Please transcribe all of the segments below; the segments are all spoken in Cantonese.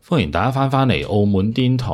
歡迎大家翻嚟澳門癲台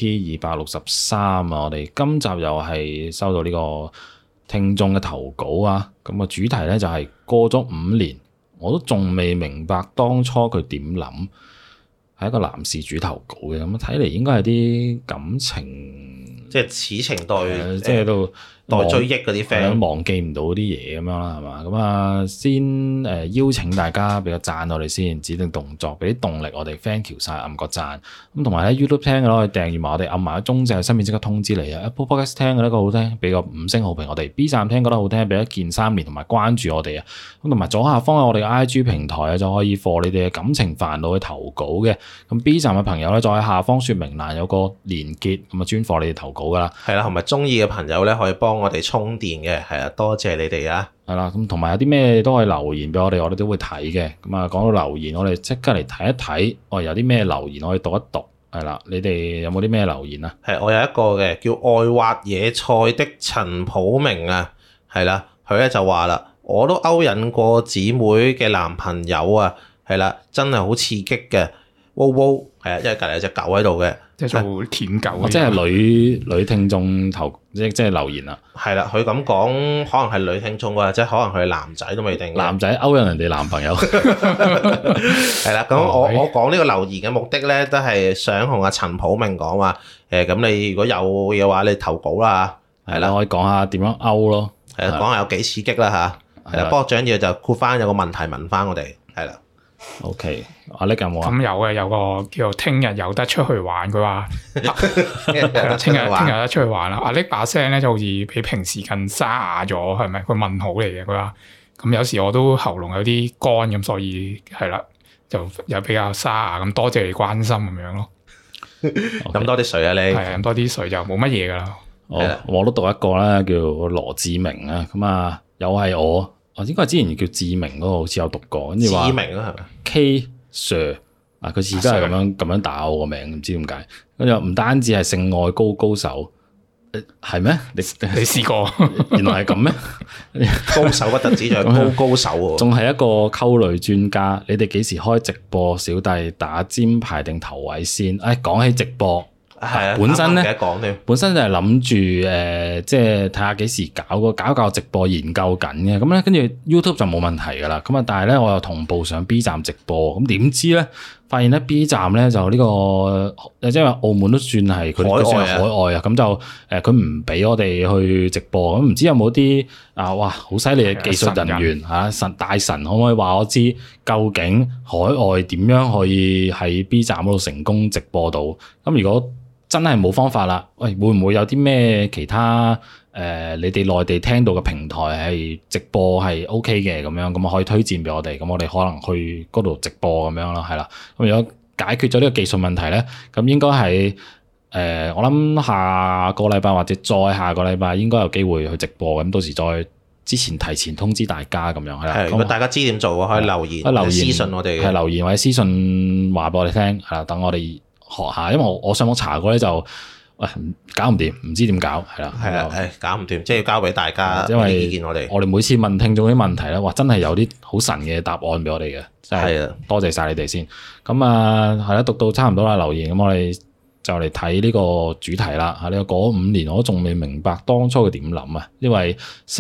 EP263啊！我哋今集又係收到呢個聽眾嘅投稿啊！咁個主題咧就係過咗5年，我都仲未明白當初佢點諗，係一個男事主投稿嘅，咁睇嚟應該係啲感情， 即係此情待， 即係都待追憶嗰啲 friend， 忘記唔到啲嘢咁樣啦，係嘛？咁啊，先邀請大家俾個讚我哋先，指定動作，俾啲動力我哋 thank you 晒，按個讚。咁同埋喺 YouTube 聽嘅咧，可以訂閱埋我哋，按埋個鐘仔喺身邊即刻通知你啊。Apple Podcast 聽嘅呢個好聽，俾個5星好評我哋。B 站聽覺得好聽，俾一鍵3連同埋關注我哋啊。咁同埋左下方有我哋嘅 IG 平台啊，就可以放你哋嘅感情煩惱去投稿嘅。咁 B 站嘅朋友咧，再喺下方說明欄有個連結，咁啊專放你哋投稿噶啦。 係啦，同埋中意嘅朋友咧，可以幫我哋充電嘅，係啊，多謝你哋啊！ 係啦，咁同埋有啲咩都可以留言俾我哋，我哋都會睇嘅。咁啊，講到留言，我哋即刻嚟睇一睇，我哋有啲咩留言可以讀一讀。係啦，你哋有冇啲咩留言啊？ 係，我有一個嘅叫愛挖野菜的陳普明啊，係啦，佢咧就話啦，我都勾引過姊妹嘅男朋友啊，係啦，真係好刺激嘅，喎喎，係啊，因為隔離有隻狗喺度嘅。 即係做舔狗， 即係女聽眾投即係留言啦。 係啦，佢咁講，可能係女聽眾或者可能佢係男仔都未定。 男仔勾引人哋男朋友。 係啦，咁我講呢個留言嘅目的咧，都係想同阿陳普明講話，咁你如果有嘅話，你投稿啦嚇。係啦， 可以講下點樣勾咯。 係啦，講下有幾刺激啦嚇。係啦，不過最緊要就括翻有個問題問翻我哋。係啦。 OK，阿叻有冇啊？ 咁有嘅，有個叫做聽日有得出去玩，佢話聽日有得出去玩啦。阿叻把聲咧就好似比平時更沙啞咗，係咪？佢問號嚟嘅，佢話咁有時我都喉嚨有啲乾咁，所以係啦，就又比較沙啞咁。多謝你關心咁樣咯。 飲多啲水啊，你係飲多啲水就冇乜嘢噶啦。 我都讀一個啦，叫羅志明啊，咁啊又係我。應該係之前叫志明嗰個，好似有讀過，跟住話志明啊，係咪 K Sir 啊？佢而家係咁樣打我個名，唔知點解。跟住唔單止係性愛高手，係咩？你試過？ 原來係咁咩？ 高手不特止，仲係高手喎， 仲係一個溝女專家。你哋幾時開直播？小弟打尖排定頭位先？講起直播。 係啊， 本身咧， 本身就係諗住即係睇下幾時搞直播研究緊嘅。咁咧，跟住 YouTube 就冇問題噶啦。咁啊，但係咧，我又同步上 B 站直播。咁點知咧，發現咧 B 站咧就呢個即係話澳門都算係佢算係海外啊。咁就佢唔俾我哋去直播。咁唔知有冇啲哇好犀利嘅技術人員大神可唔可以話我知究竟海外點樣可以喺 B 站嗰度成功直播到？咁如果真係冇方法啦，喂，會唔會有啲咩其他你哋內地聽到嘅平台係直播係 OK 嘅咁樣，咁可以推薦俾我哋，咁我哋可能去嗰度直播咁樣咯，係啦。咁如果解決咗呢個技術問題咧，咁應該係我諗下個禮拜或者再下個禮拜應該有機會去直播，咁到時再之前提前通知大家咁樣係啦。 係，如果大家知點做可以留言私信我哋， 係留言或者私信話俾我哋聽，係啦，等我哋學下，因為我上網查過咧就，搞唔掂，唔知點搞，係啦， 係啦，搞唔掂，即係要交俾大家因為意見我哋。 我哋每次問聽眾啲問題咧，哇，真係有啲好神嘅答案俾我哋嘅，真係多謝晒你哋先。咁啊，係啦，讀到差唔多啦留言，咁我哋就嚟睇呢個主題啦。呢個過咗5年，我都仲未明白當初佢點諗啊。呢位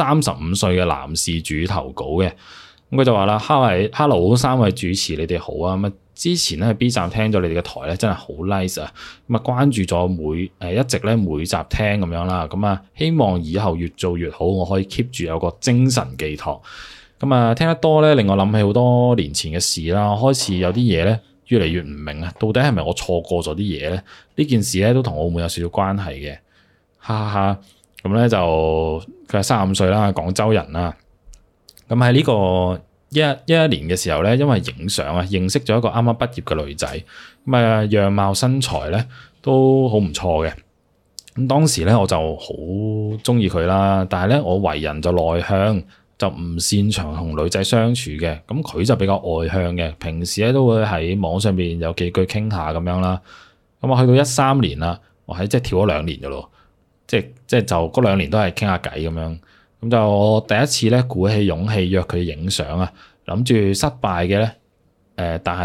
35歲嘅男事主投稿嘅，咁佢就話啦，Hello 3位主持，你哋好啊。咁之前咧喺 B 站聽咗你哋嘅台咧，真係好 nice 啊！咁啊關注咗一直咧每集聽咁樣啦，咁啊希望以後越做越好，我可以 keep 住有個精神寄託。咁啊聽得多咧，令我諗起好多年前嘅事啦，開始有啲嘢咧越嚟越唔明啊，到底係咪我錯過咗啲嘢咧？呢件事咧都同澳門有少少關係嘅，哈哈哈！咁咧就佢係35歲啦，廣州人啦。咁喺呢個11年嘅時候咧，因為影相啊，認識咗一個啱啱畢業嘅女仔，咁啊樣貌身材咧都好唔錯嘅。咁當時咧我就好中意佢啦，但係咧我為人就內向，就唔擅長同女仔相處嘅。咁佢就比較外向嘅，平時咧都會喺網上邊有幾句傾下咁樣啦。咁啊去到13年啦，我喺即係跳咗2年嘅咯，即係就嗰2年都係傾下偈咁樣。咁就我第一次咧鼓起勇氣約佢影相啊，諗住失敗嘅咧，但係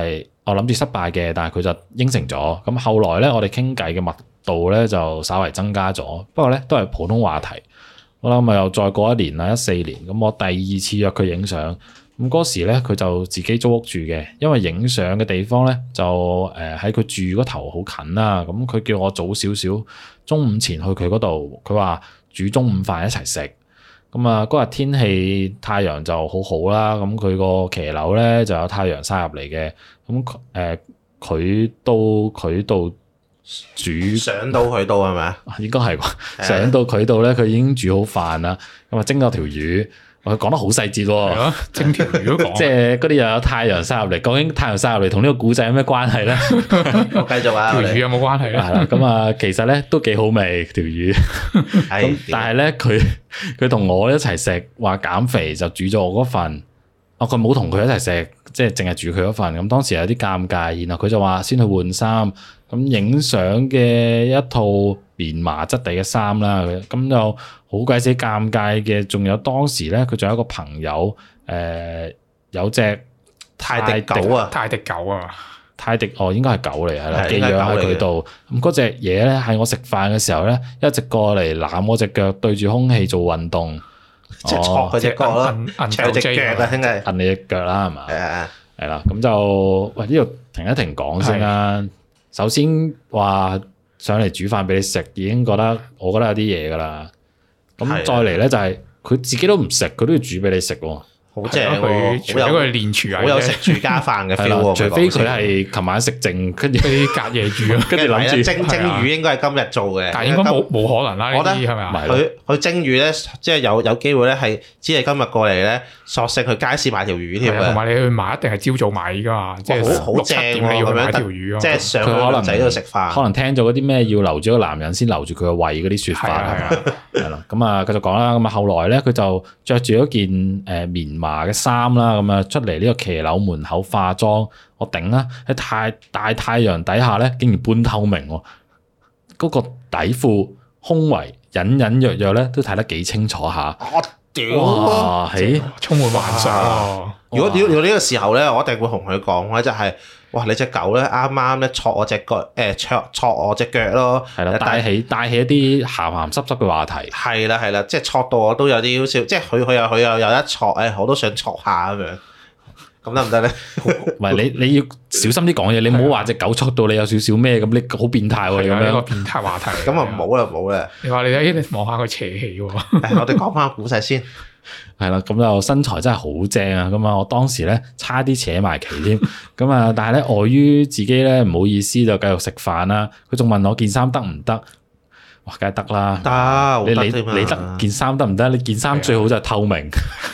我諗住失敗嘅，但係佢就應承咗。咁後來咧，我哋傾偈嘅密度咧就稍為增加咗，不過咧都係普通話題。好啦，咁啊又再過一年啦，14年，咁我第二次約佢影相。咁嗰時咧，佢就自己租屋住嘅，因為影相嘅地方咧就喺佢住嗰頭好近啦。咁佢叫我早少少，中午前去佢嗰度。佢話煮中午飯一齊食。咁啊嗰日天氣太陽就好好啦。咁佢個騎樓咧就有太陽曬入嚟嘅。咁佢到佢度煮上到佢度係咪啊？ 應該係啩。上到佢度咧，佢已經煮好飯啦。咁啊蒸咗條魚。佢講得好細節喎， 蒸條魚都講， 即係嗰啲又有太陽曬入嚟。究竟太陽曬入嚟同呢個古仔有咩關係咧？ 我繼續啊， 條魚有冇關係咧？ 係啦，咁啊，其實咧都幾好味條魚。咁但係咧，佢同我一齊食，話減肥就煮咗我嗰份。佢冇同佢一齊食，即係淨係煮佢嗰份。咁當時有啲尷尬，然後佢就話先去換衫。咁影相嘅一套棉麻質地嘅衫啦，咁就好鬼死尷尬嘅。仲有當時咧，佢仲有一個朋友，有隻泰迪狗啊， 泰迪應該係狗嚟，係啦，寄養喺佢度。咁嗰隻嘢咧，喺我食飯嘅時候咧，一直過嚟攬我隻腳，對住空氣做運動， 即係戳佢隻腳咯，戳隻腳啊，兄弟， 摁你隻腳啦，係嘛？係啦，咁就喂呢度停一停講先啦。首先話上嚟煮飯俾你食，已經覺得我覺得有啲嘢噶啦。咁再嚟咧就係佢自己都唔食，佢都要煮俾你食喎。 好正喎！除咗佢練廚藝，好有食住家飯嘅 feel 喎。 除非佢係琴晚食剩，跟住啲隔夜煮，跟住諗住蒸魚應該係今日做嘅。 但係應該冇可能啦。呢啲係咪啊？ 佢蒸魚咧，即係有機會咧，係只係今日過嚟咧，索性去街市買條魚添嘅。同埋你去買一定係朝早買㗎嘛，即係6、7點你要買條魚。即係上佢可能仔度食飯， 可能聽咗嗰啲咩要留住個男人先留住佢個胃嗰啲説法係啦。咁啊繼續講啦。咁啊後來咧佢就着住一件棉麻嘅衫啦。咁啊出嚟呢個騎樓門口化妝，我頂啦！喺大太陽底下咧，竟然半透明喎，嗰個底褲胸圍隱隱約約咧都睇得幾清楚下。 我屌！ 哇，充滿幻想。 如果呢個時候咧，我一定會同佢講咧，就係哇！你隻狗咧啱啱咧戳我隻腳，戳我隻腳咯。 係啦，帶起一啲鹹鹹濕濕嘅話題。係啦，即係戳到我都有啲好笑，即係佢又有一戳，我都想戳下咁樣。咁得唔得咧？ 唔係你要小心啲講嘢，你唔好話隻狗戳到你有少少咩咁，你好變態喎！咁樣個變態話題。 咁啊冇啦。你話你望下佢邪氣喎。 我哋講翻個古仔先。 係啦，咁就身材真係好正啊！咁啊，我當時咧差啲扯埋旗添，咁啊，但係咧礙於自己咧唔好意思就繼續食飯啦。佢仲問我件衫得唔得？哇，梗係得啦， 得， 你得件衫得唔得？你件衫最好就係透明，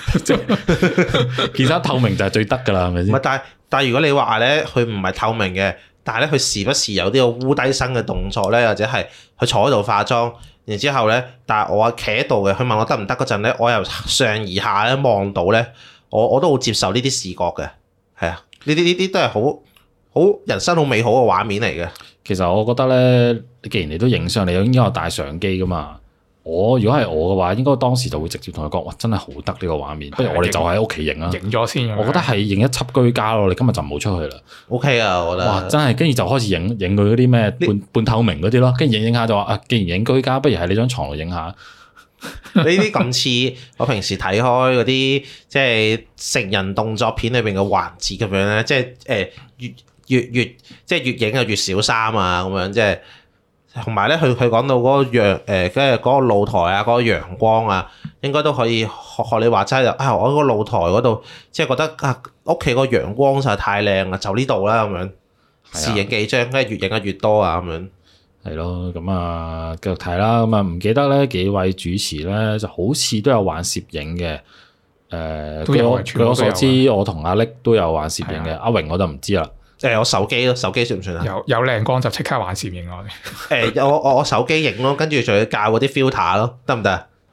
件衫透明就係最得噶啦，係咪先？ 唔係，但係如果你話咧，佢唔係透明嘅，但係咧佢時不時有啲個烏低身嘅動作咧，或者係佢坐喺度化妝。然之後咧，但係我企喺度嘅，佢問我得唔得嗰陣咧，我由上而下咧望到咧，我都好接受呢啲視覺嘅，係啊，呢啲都係好人生好美好嘅畫面嚟嘅。 其實我覺得咧，既然你都影相，你應該有帶相機噶嘛。如果係我嘅話，應該當時就會直接同佢講，哇，真係好得呢個畫面，不如我哋就喺屋企影啦。 影咗先。 我覺得係影一輯居家咯。你今日就唔好出去啦。 OK 啊，我覺得。哇， 真係跟住就開始影佢嗰啲咩半透明嗰啲咯。跟住影下就話既然影居家，不如喺你張床度影下。 呢啲咁似我平時睇開嗰啲即係成人動作片裏邊嘅環節咁樣咧，即係越即係越影啊越少衫啊咁樣，即係。同埋咧，佢講到嗰個陽跟住嗰個露台啊，嗰個陽光啊，應該都可以學你話齋啊！我喺個露台嗰度，即係覺得啊，屋企個陽光實在太靚啦，就呢度啦咁樣，試影幾張，跟住越影得越多啊咁樣。係咯，咁啊繼續睇啦。咁啊唔記得咧幾位主持咧，就好似都有玩攝影嘅。據我所知，我同阿力都有玩攝影嘅，阿榮我就唔知啦。 我手機咯，手機算唔算啊？ 有靚光就即刻玩攝影我哋。 我手機影咯，跟住仲要校嗰啲 filter 咯，得唔得？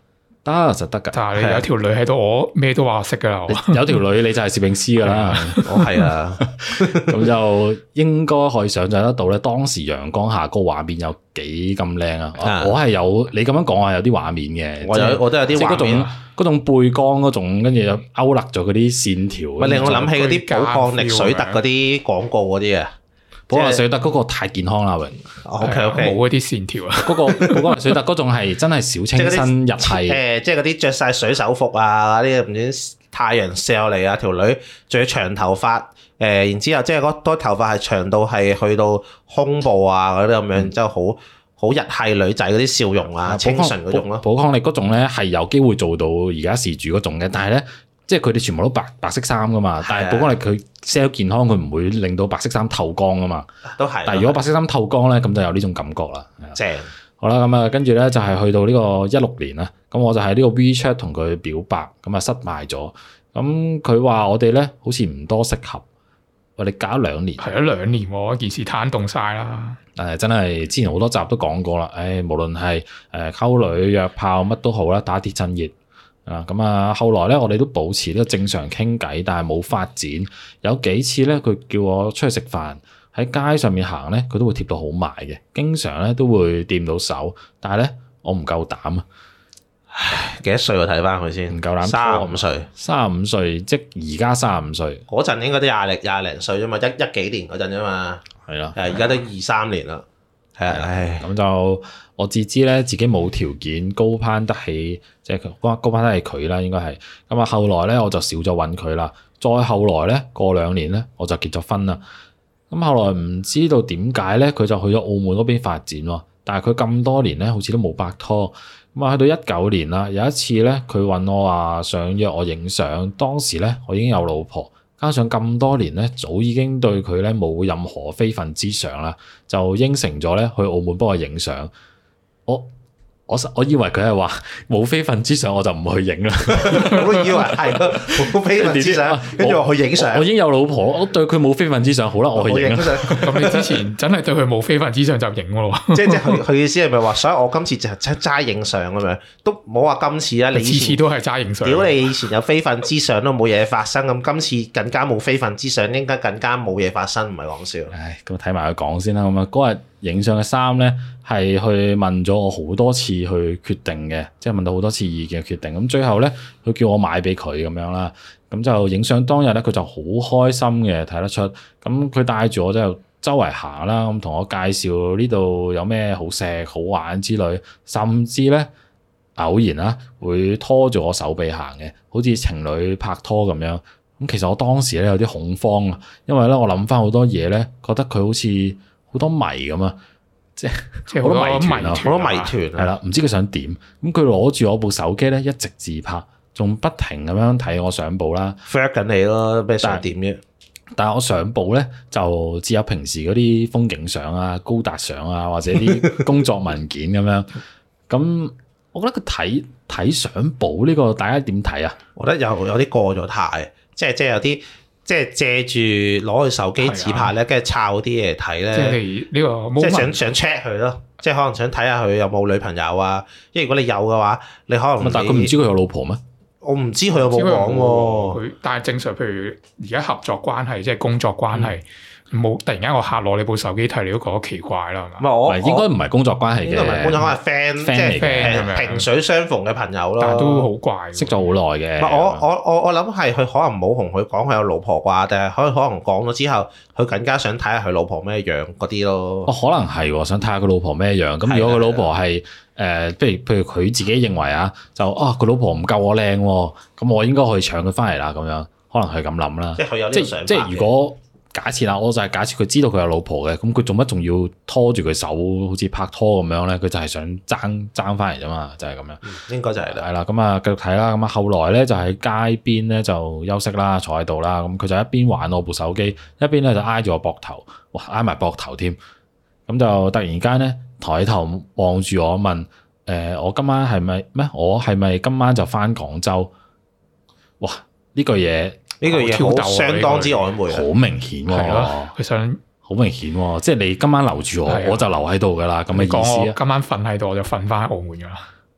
得實得㗎。 但係你有條女喺度，我咩都話識㗎啦。 有條女你就係攝影師㗎啦。 我係啊， 咁就應該可以想像得到咧，當時陽光下嗰個畫面有幾咁靚啊！我係有你咁樣講係有啲畫面嘅， 我都有啲畫面。 嗰種背光嗰種，跟住又勾勒咗嗰啲線條。 咪令我諗起嗰啲寶礦力水特嗰啲廣告嗰啲啊！ 寶礦力水特嗰個太健康啦，榮。 OK， 冇嗰啲線條啊！ 嗰個寶礦力水特嗰種係真係小清新日系。 即係嗰啲着晒水手服啊，嗰啲唔知太陽射落嚟啊，條女仲要長頭髮。然之後即係嗰多頭髮係長到係去到胸部啊嗰啲咁樣，之後好日系女仔嗰啲笑容啊，清純嗰種咯。寶礦力嗰種咧係有機會做到而家事主嗰種嘅，但係咧即係佢哋全部都白色衫噶嘛。但係寶礦力佢 sell 健康，佢唔會令到白色衫透光噶嘛。都係。但係如果白色衫透光咧，咁就有呢種感覺啦。 正。 好啦，咁啊跟住咧就係去到呢個16年啦。咁我就喺呢個 WeChat 同佢表白，咁啊失敗咗。咁佢話我哋咧好似唔多適合。我哋隔咗2年， 係咗2年喎，件事攤凍晒啦。 真係之前好多集都講過啦。無論係溝女約炮乜都好啦，打鐵趁熱啊。咁啊，後來咧我哋都保持呢個正常傾偈，但係冇發展。有幾次咧，佢叫我出去食飯，喺街上面行咧，佢都會貼到好埋嘅，經常咧都會掂到手，但係咧我唔夠膽啊。 唉，幾多歲我睇翻佢先？唔夠膽。35歲。35歲， 即而家35歲。 嗰陣應該都廿零歲啫嘛，一幾年嗰陣啫嘛。係啦。而家都23年啦。係啊，唉。 咁就我自知咧，自己冇條件高攀得起，即係高攀得起佢啦，應該係。咁啊，後來咧我就少咗揾佢啦。再後來咧，過2年咧，我就結咗婚啦。咁後來唔知道點解咧，佢就去咗澳門嗰邊發展喎。但係佢咁多年咧，好似都冇拍拖。咁啊，去到19年啦，有一次咧，佢揾我話想約我影相。當時咧，我已經有老婆，加上咁多年咧，早已經對佢咧冇任何非分之想啦，就應承咗咧去澳門幫我影相。我以為佢係話冇非分之想，我就唔去影啦。 我都以為係冇非分之想，跟住我去影相。 我已經有老婆，我對佢冇非分之想，好啦，我去影。 咁你之前真係對佢冇非分之想就影咯？ 即係佢意思係咪話，所以我今次就齋影相咁樣，都冇話今次啊！你次次都係齋影相。 屌你以前有非分之想都冇嘢發生，咁今次更加冇非分之想，應該更加冇嘢發生，唔係講笑。 唉，咁睇埋佢講先啦。咁啊，嗰日影相嘅衫咧，係去問咗我好多次去決定嘅，即係問到好多次意見嘅決定。咁最後咧，佢叫我買俾佢咁樣啦。咁就影相當日咧，佢就好開心嘅，睇得出。咁佢帶住我就周圍行啦，咁同我介紹呢度有咩好食好玩之類，甚至咧偶然啦會拖住我手臂行嘅，好似情侶拍拖咁樣。咁其實我當時咧有啲恐慌啊，因為咧我諗翻好多嘢咧，覺得佢好似好多謎咁啊，即係好多謎團啊，好多謎團係啦，唔知佢想點。咁佢攞住我部手機咧，一直自拍，仲不停咁樣睇我相簿啦 ，flirt 緊你咯，咩想點啫？ 但係我相簿咧就只有平時嗰啲風景相啊、高達相啊，或者啲工作文件咁樣。咁我覺得佢睇相簿呢個，大家點睇啊？ 我覺得有啲過咗態，即係有啲。即係借住攞佢手機自拍咧，跟住抄啲嘢睇咧。 即係呢個， 即係想 check 佢咯。即係可能想睇下佢有冇女朋友啊。因為如果你有嘅話，你可能但係佢唔知佢有老婆咩？ 我唔知佢有冇講喎。 佢但係正常，譬如而家合作關係，即係工作關係。冇突然間個客攞你部手機睇，你都覺得奇怪啦，係嘛？ 唔係應該唔係工作關係嘅，應該唔係工作關係 friend，即係 friend 萍水相逢嘅朋友咯。 但係都好怪， 識咗好耐嘅。 唔係我諗係佢可能冇同佢講佢有老婆啩，定係可能講咗之後，佢更加想睇下佢老婆咩樣嗰啲咯。 可能係想睇下佢老婆咩樣。咁如果佢老婆係譬如佢自己認為啊，就佢老婆唔夠我靚喎，咁我應該去搶佢翻嚟啦咁樣，可能係咁諗啦。 即係佢有呢個想法。 即係如果。假設啦，我就係假設佢知道佢有老婆嘅，咁佢做乜仲要拖住佢手，好似拍拖咁樣咧？佢就係想爭翻嚟啫嘛，就係咁樣。 應該就係啦。 係啦，咁啊繼續睇啦。咁啊後來咧就喺街邊咧就休息啦，坐喺度啦。咁佢就一邊玩我部手機，一邊咧就挨住我膊頭，哇挨埋膊頭添。咁就突然間咧抬頭望住我問：我今晚係咪咩？我係咪今晚就翻廣州？哇！呢句嘢。 呢個嘢好相當之曖昧， 好明顯喎。 佢想好明顯喎，即係你今晚留住我，我就留喺度噶啦。咁嘅意思啊？ 今晚瞓喺度，我就瞓翻喺澳門噶啦。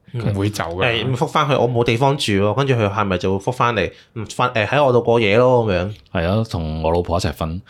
唔會走嘅。 咁覆翻去，我冇地方住喎，跟住佢係咪就會覆翻嚟？喺我度過夜咯咁樣。 係啊，同我老婆一齊瞓。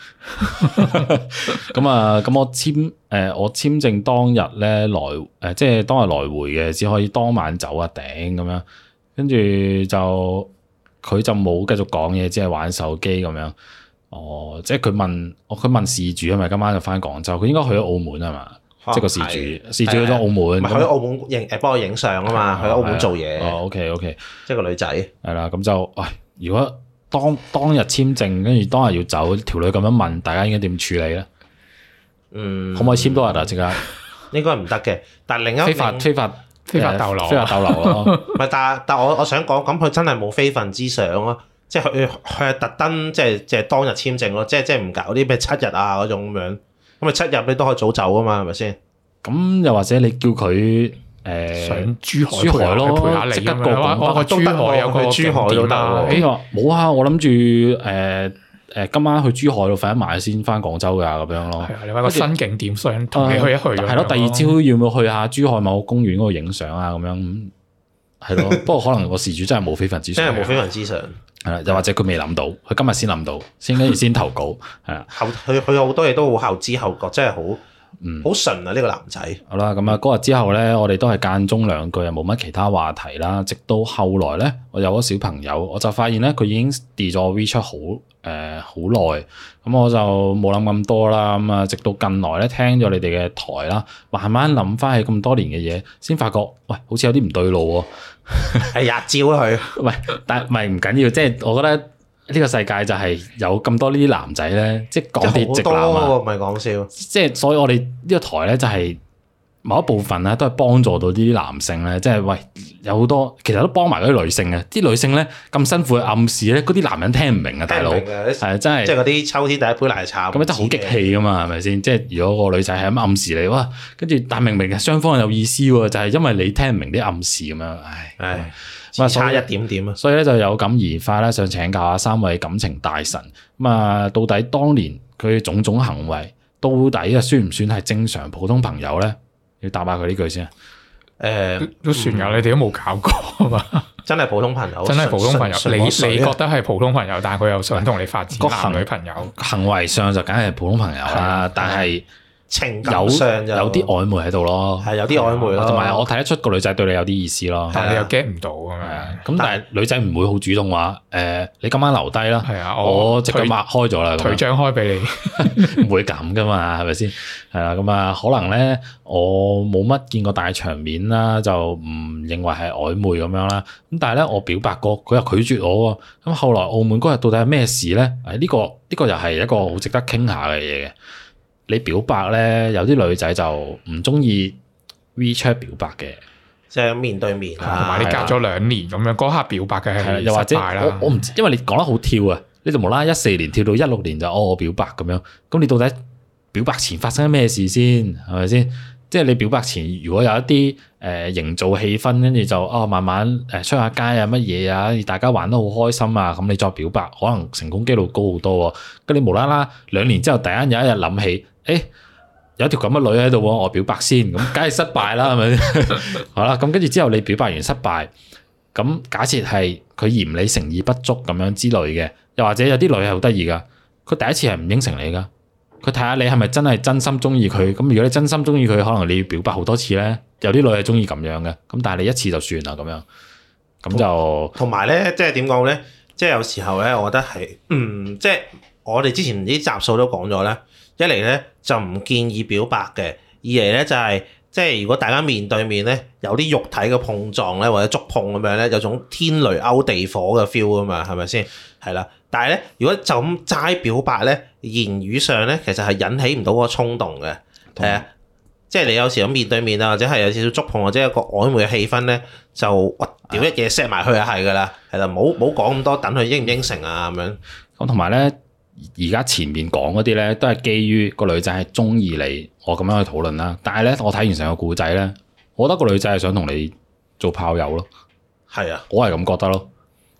咁我簽證當日咧即係當日來回嘅，只可以當晚走啊頂咁樣。跟住就佢就冇繼續講嘢，只係玩手機咁樣。哦，即係佢問事主係咪今晚就翻廣州？佢應該去咗澳門係嘛？即係個事主去咗澳門。 去澳門幫我影相啊嘛，去澳門做嘢。 OK， 即係個女仔。係啦，咁就如果當日簽證，跟住當日要走，條女咁樣問，大家應該點處理咧？可唔可以簽多日啊？即刻應該唔得嘅。但係另一非法逗留咯。 唔係，但我想講，咁佢真係冇非分之想咯。即係佢係特登，即係當日簽證咯。即係唔搞啲咩7日啊嗰種咁樣。咁咪7日你都可以早走啊嘛，係咪先？ 咁又或者你叫佢上珠海咯，陪下你即刻過我珠海有個珠海都得喎。 冇啊，我諗住今晚去珠海度瞓一晚先翻廣州㗎咁樣咯。 係啊，你揾個新景點想同你去一去。係咯，第二朝要唔要去下珠海某個公園嗰度影相啊？咁樣係咯。不過可能個事主真係冇非分之想。 真係冇非分之想。 係啦，又或者佢未諗到，佢今日先諗到，跟住先投稿。係啊， 佢好多嘢都好後知後覺，真係好純啊！呢個男仔。好啦， 咁啊嗰日之後咧，我哋都係間中兩句，又冇乜其他話題啦。直到後來咧，我有咗小朋友，我就發現咧佢已經 delete 咗 WeChat 好耐，咁我就冇諗咁多啦。咁啊，直到近來咧聽咗你哋嘅台啦，慢慢諗翻起咁多年嘅嘢，先發覺喂，好似有啲唔對路喎。 係日照佢， 喂，但係唔緊要，即係我覺得呢個世界就係有咁多呢啲男仔咧，即係講啲直男啊， 唔係講笑。 即係所以我哋呢個台咧就係某一部分咧都係幫助到呢啲男性咧，即係喂有好多其實都幫埋嗰啲女性嘅，啲女性咧咁辛苦嘅暗示咧，嗰啲男人聽唔明啊，大佬係真係即係嗰啲秋天第一杯奶茶咁樣真係好激氣噶嘛，係咪先？即係如果個女仔係咁暗示你哇，跟住但明明嘅雙方有意思喎，就係因為你聽唔明啲暗示咁樣，唉， 差一點點啊！ 所以咧就有感而發咧，想請教下三位感情大神咁啊，到底當年佢種種行為到底啊算唔算係正常普通朋友咧？要答下佢呢句先啊！ 都算㗎，你哋都冇搞過嘛？ 真係普通朋友， 真係普通朋友。你覺得係普通朋友，但係佢又想同你發展男女朋友， 行為上就梗係普通朋友啦。但係情感上就有啲曖昧喺度咯， 係有啲曖昧咯。同埋我睇得出個女仔對你有啲意思咯， 但係你又 get 唔到咁樣。 咁但係女仔唔會好主動話你今晚留低啦。係啊，我即刻擘開咗啦， 腿張開俾你， 唔會咁噶嘛，係咪先？係啦，咁啊可能咧我冇乜見過大場面啦，就唔認為係曖昧咁樣啦。咁但係咧我表白過，佢又拒絕我喎。咁後來澳門嗰日到底係咩事咧？呢個又係一個好值得傾下嘅嘢嘅。你表白咧，有啲女仔就唔中意 WeChat 表白嘅， 即係面對面， 同埋你隔咗2年咁樣，嗰刻表白嘅係又或者我唔知，因為你講得好跳啊，你就無啦啦14年跳到16年就我表白咁樣，咁你到底表白前發生咩事先係咪先？即係你表白前如果有一啲營造氣氛，跟住就慢慢出下街啊乜嘢啊，大家玩得好開心啊，咁你再表白，可能成功機率高好多喎。咁你無啦啦2年之後突然間有一日諗起，有條咁嘅女喺度喎，我表白先，咁梗係失敗啦，係咪？好啦，咁跟住之後你表白完失敗，咁假設係佢嫌你誠意不足咁樣之類嘅，又或者有啲女係好得意噶，佢第一次係唔應承你噶，佢睇下你係咪真係真心中意佢，咁如果你真心中意佢，可能你要表白好多次咧，有啲女係中意咁樣嘅，咁但係你一次就算啦咁樣，咁就同埋咧，即係點講咧？即係有時候咧，我覺得係，即係我哋之前啲集數都講咗咧。一嚟咧就唔建議表白嘅，二嚟咧就係即係如果大家面對面咧有啲肉體嘅碰撞咧或者觸碰咁樣咧，有種天雷勾地火嘅 feel 啊嘛，係咪先？係啦，但係咧如果就咁齋表白咧，言語上咧其實係引起唔到嗰個衝動嘅，係啊，即係你有時咁面對面啊，或者係有少少觸碰或者一個曖昧嘅氣氛咧，就屌一嘢 set 埋去就係㗎啦，係啦，冇講咁多，等佢應唔應承啊咁樣。 咁同埋咧。而家前面講嗰啲咧，都係基於個女仔係中意你，我咁樣去討論啦。但係咧，我睇完成個故仔咧，我覺得個女仔係想同你做炮友咯。 係啊， 我係咁覺得咯。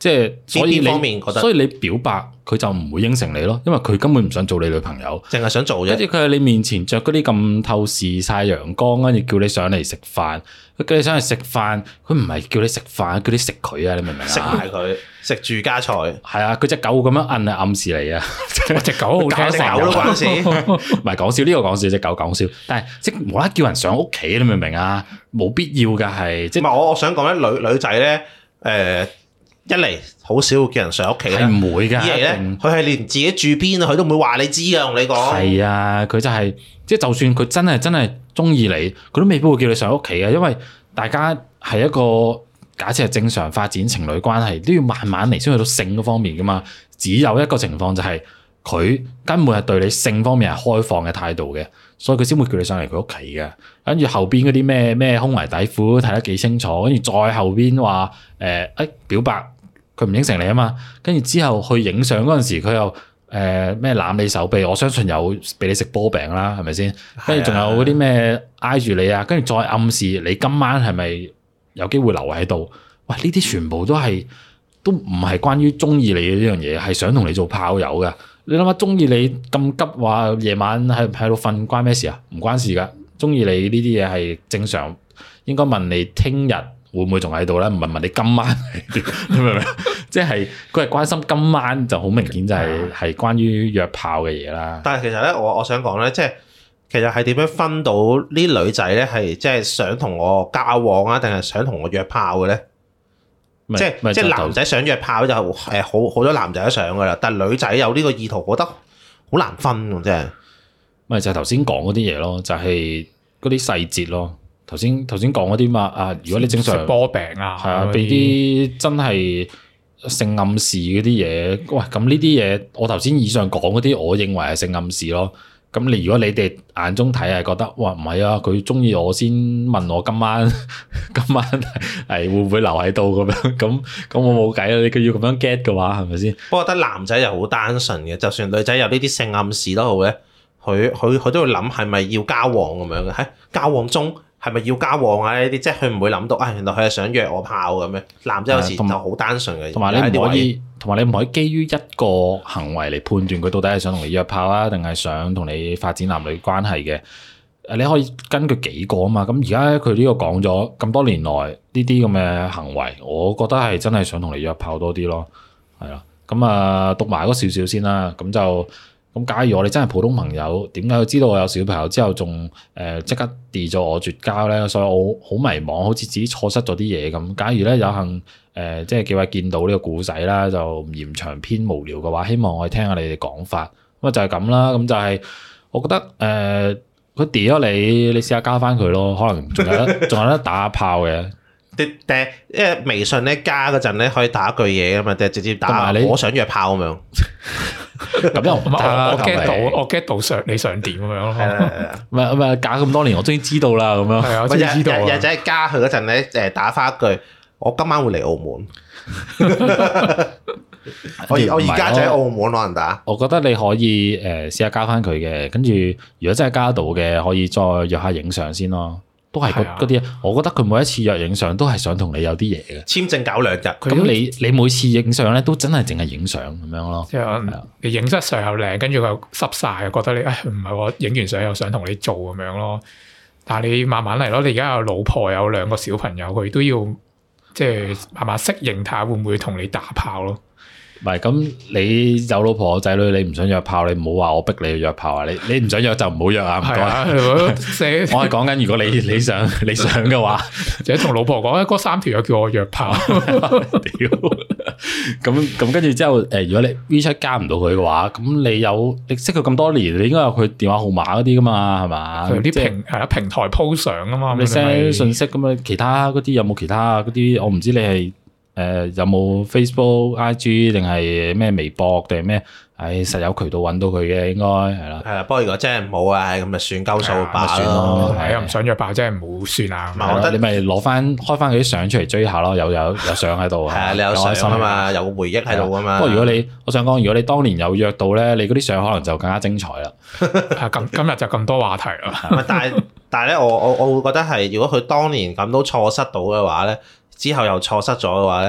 即係所以你表白佢就唔會應承你咯，因為佢根本唔想做你女朋友， 淨係想做啫。 跟住佢喺你面前着嗰啲咁透視晒陽光，跟住叫你上嚟食飯，佢叫你上嚟食飯，佢唔係叫你食飯，叫你食佢啊！你明唔明啊？ 食埋佢，食住家菜。係啊，佢隻狗咁樣摁係暗示你啊！ 隻狗好聽， 隻狗都關事。 唔係講笑，呢個講笑，隻狗講笑，但係即係無啦啦叫人上屋企，你明唔明啊？冇必要㗎，係即係。 唔係我想講咧，女仔咧，一嚟好少會叫人上屋企啦， 係唔會㗎。 二嚟咧，佢係連自己住邊啊，佢都唔會話你知啊。同你講係啊，佢就係即係，就算佢真係中意你，佢都未必會叫你上屋企嘅，因為大家係一個假設係正常發展情侶關係，都要慢慢嚟先去到性嗰方面㗎嘛。只有一個情況就係佢根本係對你性方面係開放嘅態度嘅，所以佢先會叫你上嚟佢屋企嘅。跟住後邊嗰啲咩胸圍底褲睇得幾清楚，跟住再後邊話表白。佢唔應承你啊嘛，跟住之後去影相嗰陣時，佢又咩攬你手臂，我相信有俾你食波餅啦，係咪先？跟住仲有嗰啲咩挨住你啊，跟住再暗示你今晚係咪有機會留喺度？喂，呢啲全部都唔係關於中意你嘅呢樣嘢，係想同你做炮友噶。你諗下，中意你咁急話夜晚喺度瞓，關咩事啊？唔關事噶，中意你呢啲嘢係正常，應該問你聽日會唔會仲喺度咧？唔係問你今晚，你明唔明？即係佢係關心今晚，就好明顯就係關於約炮嘅嘢啦。 但係其實咧，我想講咧，即係其實係點樣分到呢女仔咧係即係想同我交往啊，定係想同我約炮嘅咧？即係男仔想約炮就好多男仔都想噶啦，但係女仔有呢個意圖，覺得好難分喎，真係。 咪就係頭先講嗰啲嘢咯，就係嗰啲細節咯。頭先講嗰啲嘛啊，如果你正常食波餅啊， 係啊，俾啲真係性暗示嗰啲嘢，喂，咁呢啲嘢我頭先以上講嗰啲，我認為係性暗示咯。咁如果你哋眼中睇係覺得，哇，唔係啊，佢中意我先問我今晚係會唔會留喺度咁樣，咁我冇計啦。你佢要咁樣 get 嘅話，係咪先？ 不過我覺得男仔又好單純嘅，就算女仔有呢啲性暗示都好咧，佢都會諗係咪要交往咁樣嘅？喺交往中係咪要交往啊？呢啲即係佢唔會諗到啊，原來佢係想約我炮咁樣。男仔有時就好單純嘅， 同埋你唔可以基於一個行為嚟判斷佢到底係想同你約炮啊，定係想同你發展男女關係嘅。你可以根據幾個啊嘛。咁而家佢呢個講咗咁多年來呢啲咁嘅行為，我覺得係真係想同你約炮多啲咯。係啦，咁啊讀埋嗰少少先啦。咁假如我哋真係普通朋友，點解佢知道我有小朋友之後仲即刻 delete 咗我絕交咧？所以我好迷茫，好似自己錯失咗啲嘢咁。假如咧有幸即係幾位見到呢個故仔啦，就唔嫌長篇無聊嘅話，希望我哋聽下你哋講法。咁啊就係咁啦。咁就係我覺得佢 delete 咗你試下加翻佢咯，可能仲有得打炮嘅。 因為微信咧加嗰陣咧可以打一句嘢噶嘛，定係直接打我想約炮咁樣。 咁又唔得啦， 我 get 到你想點咁樣咯。 唔係假咁多年，我終於知道啦咁樣。 係啊，我終於知道。 日仔加佢嗰陣咧，打翻一句，我今晚會嚟澳門。我而家就喺澳門可能打。 我覺得你可以試下加翻佢嘅，跟住如果真係加到嘅，可以再約下影相先咯。都係嗰啲，我覺得佢每一次約影相都係想同你有啲嘢嘅。 簽證搞2日， 咁你每次影相咧都真係淨係影相咁樣咯。 即係你影出相又靚，跟住佢又濕晒，覺得你唔係我影完相又想同你做咁樣咯。但係你慢慢嚟咯，你而家有老婆有2個小朋友，佢都要即係慢慢適應，睇下會唔會同你打炮咯。 唔係咁，你有老婆有仔女，你唔想約炮，你唔好話我逼你去約炮啊！你唔想約就唔好約啊！唔該。我係講緊，如果你想嘅話， 或者同老婆講，嗰3條友叫我約炮。 屌！咁跟住之後，如果你 WeChat 加唔到佢嘅話，咁你識佢咁多年，你應該有佢電話號碼嗰啲噶嘛，係嘛？ 有啲平台 po 相啊嘛， 你 send 信息咁啊，其他嗰啲有冇其他嗰啲？我唔知你係。有冇 Facebook、IG 定係咩微博定係咩？實有渠道揾到佢嘅，應該係啦。 係啦，不過如果真係唔好啊，咁咪算鳩數罷算咯。 係啊，唔想約炮真係唔好算啊。 我覺得你咪開翻佢啲相出嚟追下咯，有相喺度。 係啊，你有相啊嘛，有個回憶喺度啊嘛。 不過我想講，如果你當年有約到咧，你嗰啲相可能就更加精彩啦。 今日就咁多話題啦。 但係咧，我會覺得係，如果佢當年咁都錯失到嘅話咧，之後又錯失咗嘅話咧，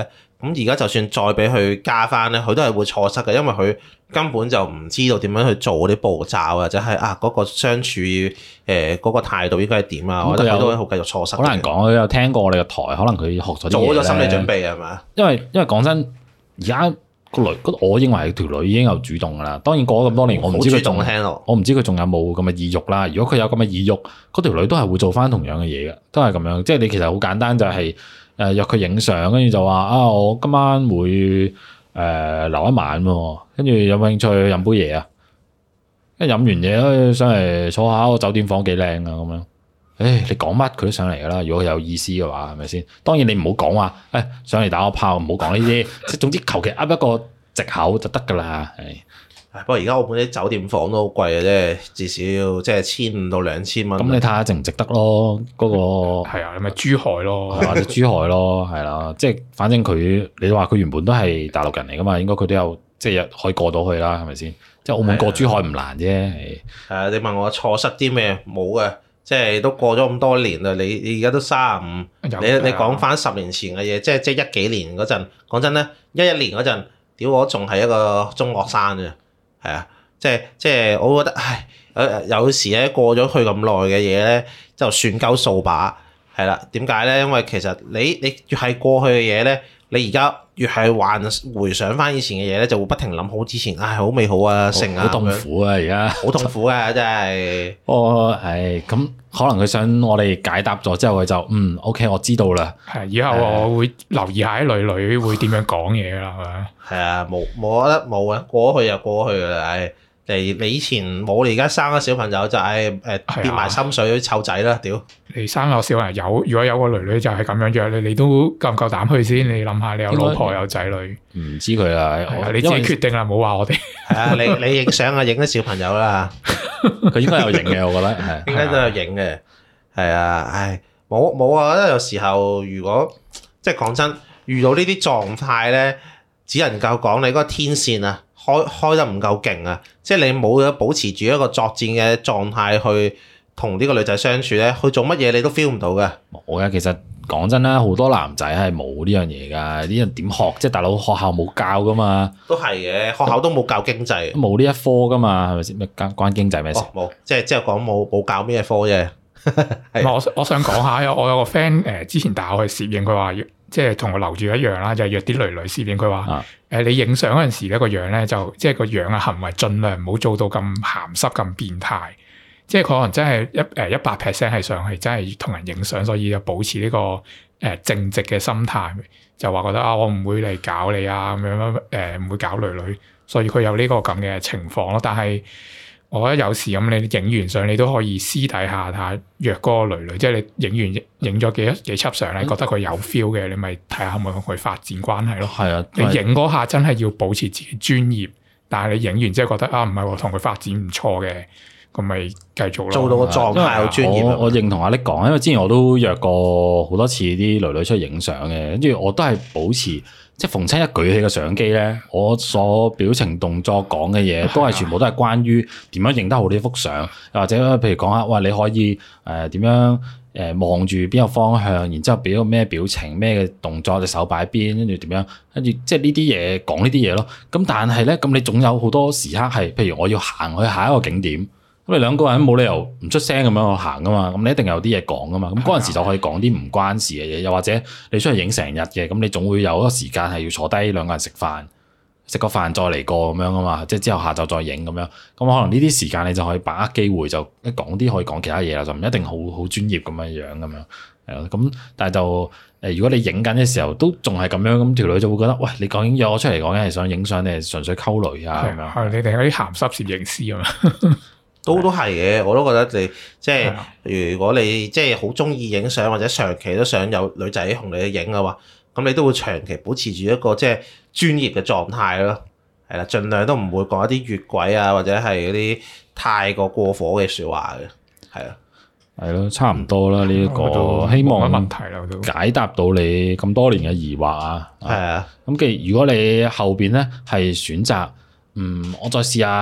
咁而家就算再俾佢加翻咧，佢都係會錯失嘅，因為佢根本就唔知道點樣去做嗰啲步驟，或者係嗰個相處嗰個態度應該係點啊？我覺得佢都會好繼續錯失。好難講，佢有聽過我哋嘅台，可能佢學咗啲嘢做咗心理準備係嘛？因為講真，而家個女，我認為條女已經有主動噶啦。當然過咗咁多年，我唔知佢仲有冇咁嘅意欲啦。如果佢有咁嘅意欲，嗰條女都係會做翻同樣嘅嘢嘅，都係咁樣。即係你其實好簡單，就係約佢影相，跟住就話我今晚會留一晚喎，跟住有冇興趣飲杯嘢啊？跟住飲完嘢上嚟坐下，個酒店房幾靚啊咁樣。你講乜佢都上嚟噶啦，如果佢有意思嘅話，係咪先？當然你唔好講話，上嚟打個炮，唔好講呢啲，即係總之求其噏一個藉口就得噶啦。 不過而家澳門啲酒店房都好貴嘅啫，至少即係1500到2000蚊。 咁你睇下值唔值得咯？嗰個係啊，你咪珠海咯， 或者珠海咯，係啦，即係反正佢，你話佢原本都係大陸人嚟噶嘛，應該佢都有即係可以過到去啦，係咪先？即係澳門過珠海唔難啫。 係啊，你問我錯失啲咩？冇嘅。即係都過咗咁多年啦，你而家都35，你講翻10年前嘅嘢，即係10幾年嗰陣，講真咧，11年嗰陣，屌我仲係一個中學生啫，係啊，即係我覺得，有時咧過咗去咁耐嘅嘢咧，就算夠掃把，係啦，點解咧？因為其實你越係過去嘅嘢咧，你而家越係回想翻以前嘅嘢咧，就會不停諗好之前，好美好啊，成啊， 好痛苦啊，而家好痛苦啊，真係。 咁可能佢想我哋解答咗之後，佢就OK，我知道啦。 係，以後我會留意下啲女會點樣講嘢啦，係咪？ 係啊，冇得冇啊，過去就過去噶啦，你以前冇，你而家生咗小朋友就跌埋心水湊仔啦，屌！你生個小朋友，如果有個女就係咁樣約你都夠唔夠膽去先？你諗下，你有老婆有仔女， 唔知佢啦， 你自己決定啦，唔好話我哋。 係啊，你影相啊，影啲小朋友啦， 佢應該有影嘅，我覺得係， 應該都有影嘅，係啊，冇啊，我覺得有時候如果即係講真，遇到呢啲狀態咧，只能夠講你嗰個天線啊。開得唔夠勁啊！即係你冇咗保持住一個作戰嘅狀態去同呢個女仔相處咧，去做乜嘢你都 feel 唔到嘅。 冇嘅，其實講真啦，好多男仔係冇呢樣嘢㗎，呢樣點學？即係大佬學校冇教㗎嘛。 都係嘅，學校都冇教經濟， 冇呢一科㗎嘛，係咪先？咩關經濟咩事？ 冇，即係講冇教咩科啫。 我想講下，我有個 friend 之前帶我去攝影，佢話即係同我留住一樣啦，就係約啲女攝影。佢話你影相嗰陣時咧，個樣咧就即係個樣嘅行為，盡量唔好做到咁鹹濕咁變態。即係佢可能真係100% 係上去真係同人影相，所以就保持呢個正直嘅心態，就話覺得我唔會嚟搞你啊咁樣唔會搞女，所以佢有呢個咁嘅情況咯。但係我覺得有時咁，你影完相你都可以私底下睇下約嗰個女，即係你影咗幾輯相咧，覺得佢有 feel 嘅，你咪睇下可唔可以同佢發展關係咯。係啊，你影嗰下真係要保持自己專業，但係你影完之後覺得唔係喎，同佢發展唔錯嘅，咁咪繼續咯。做到個狀態好專業。 我認同阿力講，因為之前我都約過好多次啲女出去影相嘅，跟住我都係保持。即係逢親一舉起個相機咧，我所表情動作講嘅嘢都係全部都係關於點樣影得好呢幅相，又或者譬如講下，哇你可以點樣望住邊個方向，然之後俾個咩表情、咩嘅動作，隻手擺邊，跟住點樣，跟住即係呢啲嘢講呢啲嘢咯。咁但係咧，咁你總有好多時刻係，譬如我要行去下一個景點。咁你兩個人冇理由唔出聲咁樣去行噶嘛，咁你一定有啲嘢講噶嘛，咁嗰陣時就可以講啲唔關事嘅嘢，又或者你出去影成日嘅，咁你總會有一個時間係要坐低兩個人食飯，食個飯再嚟過咁樣啊嘛，即係之後下晝再影咁樣，咁可能呢啲時間你就可以把握機會，就一講啲可以講其他嘢啦，就唔一定好專業咁樣咁樣，係咯，咁但係就如果你影緊嘅時候都仲係咁樣，咁條女就會覺得，喂，你究竟約我出嚟講緊係想影相定係純粹溝女啊咁樣？ 係你哋嗰啲鹹濕攝影師啊嘛。 都係嘅，我都覺得你即係如果你即係好中意影相，或者長期都想有女仔同你去影嘅話，咁你都會長期保持住一個即係專業嘅狀態咯。係啦，盡量都唔會講一啲越軌啊，或者係嗰啲太過過火嘅説話嘅。係啊， 係咯，差唔多啦。呢一個希望問題啦，都解答到你咁多年嘅疑惑啊。係啊，咁既然如果你後邊咧係選擇，我再試下。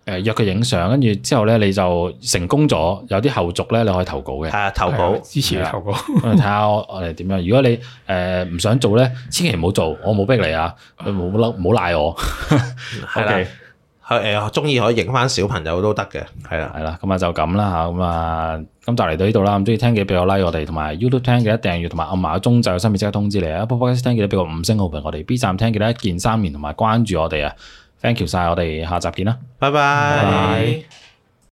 約佢影相，跟住之後咧你就成功咗，有啲後續咧你可以投稿嘅。 係啊，投稿支持你投稿。 睇下我哋點樣。如果你唔想做咧，千祈唔好做，我冇逼你啊，唔好賴我。 係啦。中意可以影翻小朋友都得嘅，係啦， 咁啊就咁啦嚇，咁啊今集嚟到呢度啦，咁中意聽嘅俾個 like 我哋，同埋 YouTube 聽記得訂閱，同埋按埋個鐘就有新片即刻通知你啊！Apple Podcast 聽記得俾個5星好評我哋，B 站聽記得一鍵3連同埋關注我哋啊 ！Thank you 晒，我哋下集見啦， 拜拜。